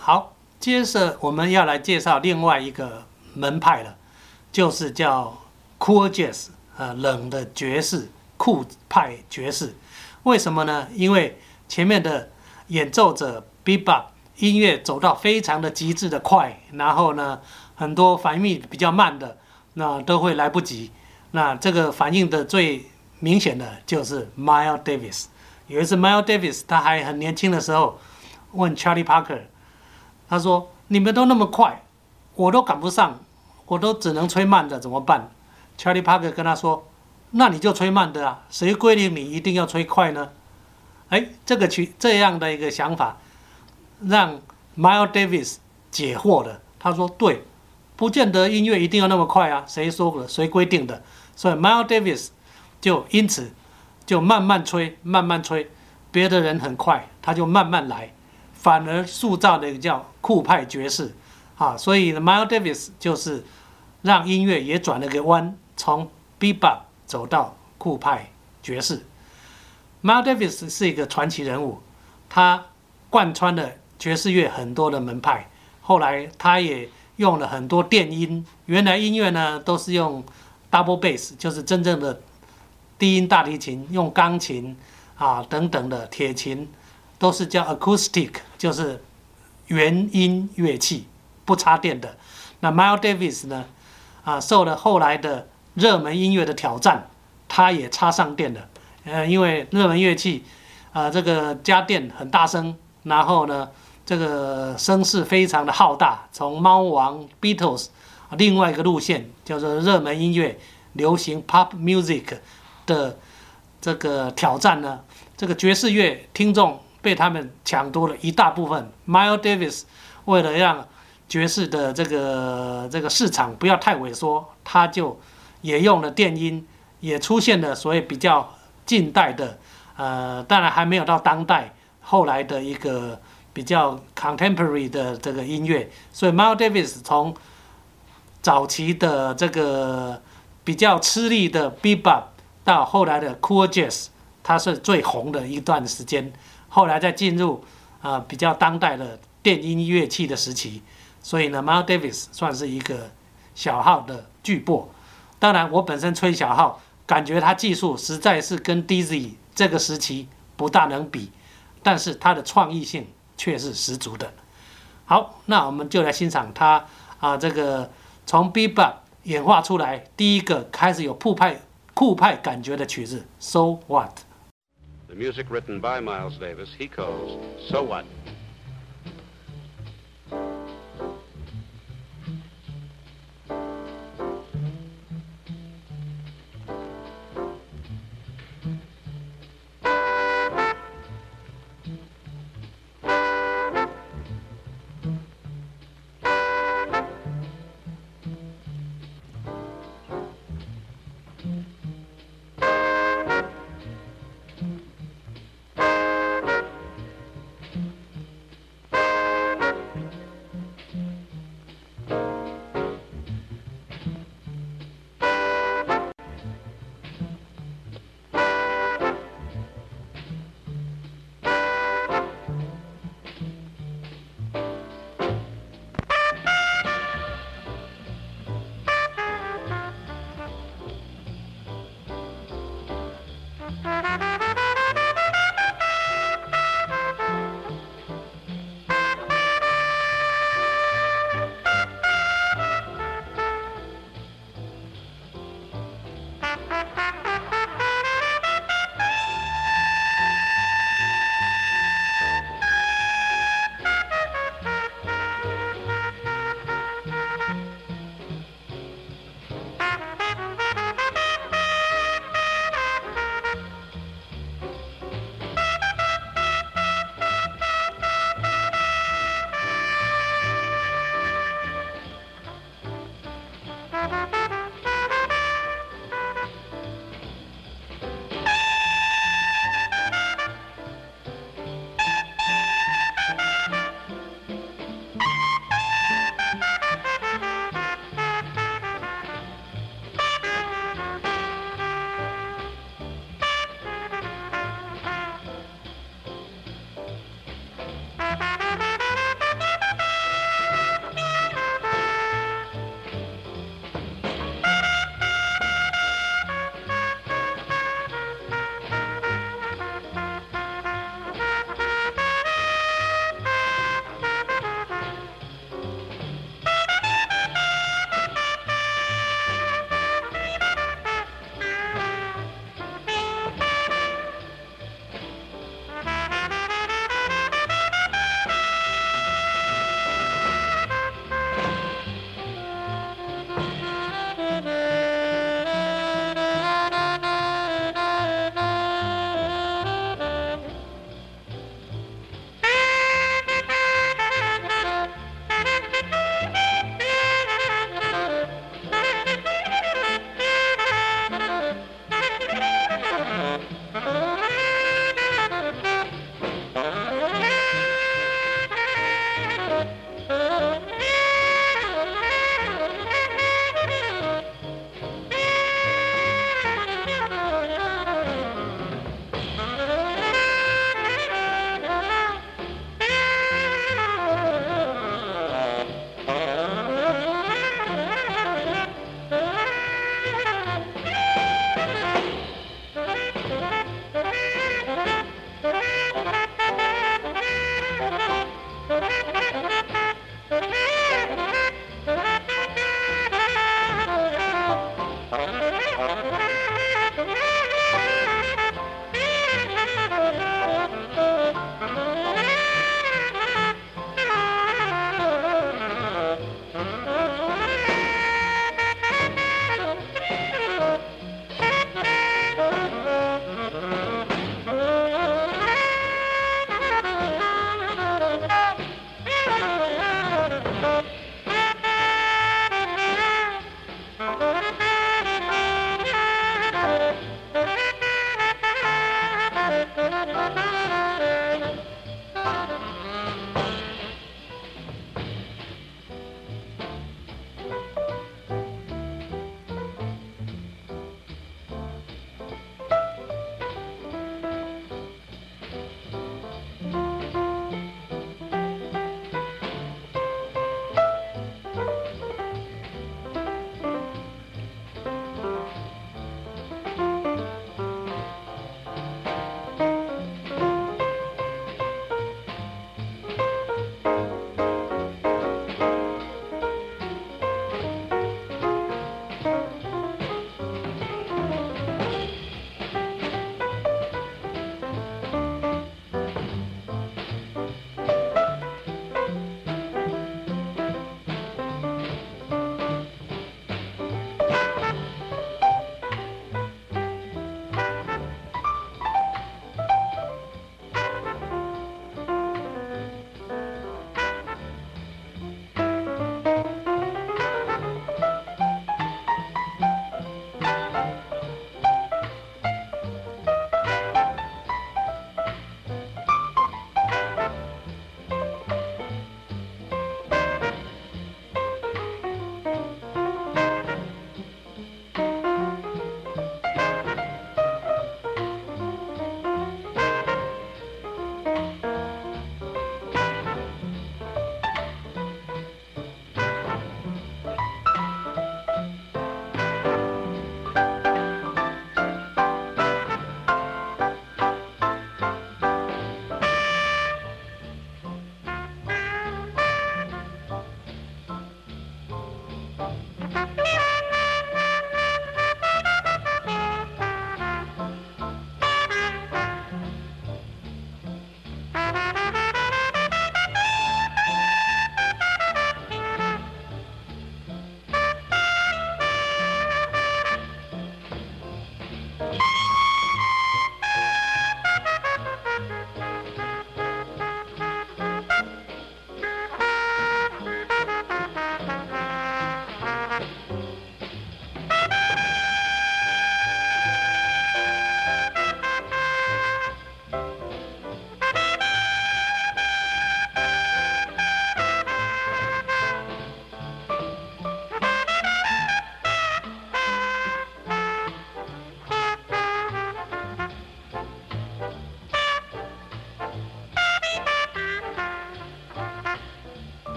好，接着我们要来介绍另外一个门派了，就是叫 Cool Jazz， 冷的爵士，酷派爵士。为什么呢？因为前面的演奏者 Bebop 音乐走到非常的极致的快，然后呢，很多反应比较慢的，那都会来不及。那这个反应的最明显的就是 Miles Davis。有一次 Miles Davis 他还很年轻的时候问 Charlie Parker， 他说：“你们都那么快，我都赶不上，我都只能吹慢的，怎么办？” Charlie Parker 跟他说：“那你就吹慢的啊，谁规定你一定要吹快呢？”这样的一个想法，让 Miles Davis 解惑了。他说：“对，不见得音乐一定要那么快啊，谁说的？谁规定的？”所以 Miles Davis 就因此就慢慢吹，慢慢吹，别的人很快，他就慢慢来，反而塑造了一个叫酷派爵士啊。所以 Miles Davis 就是让音乐也转了个弯，从 Bebop 走到酷派爵士。Miles Davis 是一个传奇人物，他贯穿了爵士乐很多的门派，后来他也用了很多电音，原来音乐呢都是用 double bass， 就是真正的低音大提琴，用钢琴啊等等的铁琴，都是叫 acoustic， 就是原音乐器，不插电的。那 Miles Davis 呢，受了后来的热门音乐的挑战，他也插上电了。因为热门乐器，这个加电很大声，然后呢，这个声势非常的浩大。从猫王 Beatles 另外一个路线叫做热门音乐、流行 Pop Music 的这个挑战呢，这个爵士乐听众被他们抢夺了一大部分。Miles Davis 为了让爵士的这个市场不要太萎缩，他就也用了电音，也出现了所谓比较近代的，当然还没有到当代，后来的一个比较 contemporary 的这个音乐。所以 Miles Davis 从早期的这个比较吃力的 Bebop 到后来的 Cool Jazz， 它是最红的一段时间。后来再进入比较当代的电音乐器的时期。所以呢 ，Miles Davis 算是一个小号的巨擘。当然，我本身吹小号，感觉他技术实在是跟 Dizzy 这个时期不大能比，但是他的创意性却是十足的。好，那我们就来欣赏他这个从 Bebop 演化出来第一个开始有酷派感觉的曲子 So What。 The music written by Miles Davis, he calls So What.